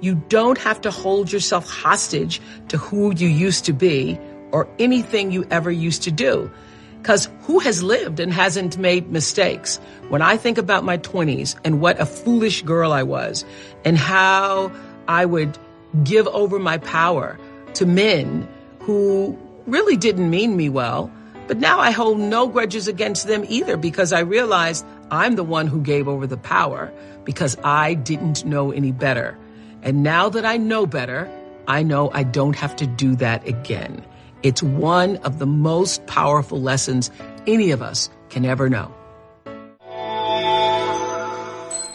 You don't have to hold yourself hostage to who you used to be or anything you ever used to do. Because who has lived and hasn't made mistakes? When I think about my 20s and what a foolish girl I was and how I would give over my power to men who really didn't mean me well, but now I hold no grudges against them either because I realized I'm the one who gave over the power because I didn't know any better. And now that I know better, I know I don't have to do that again. It's one of the most powerful lessons any of us can ever know.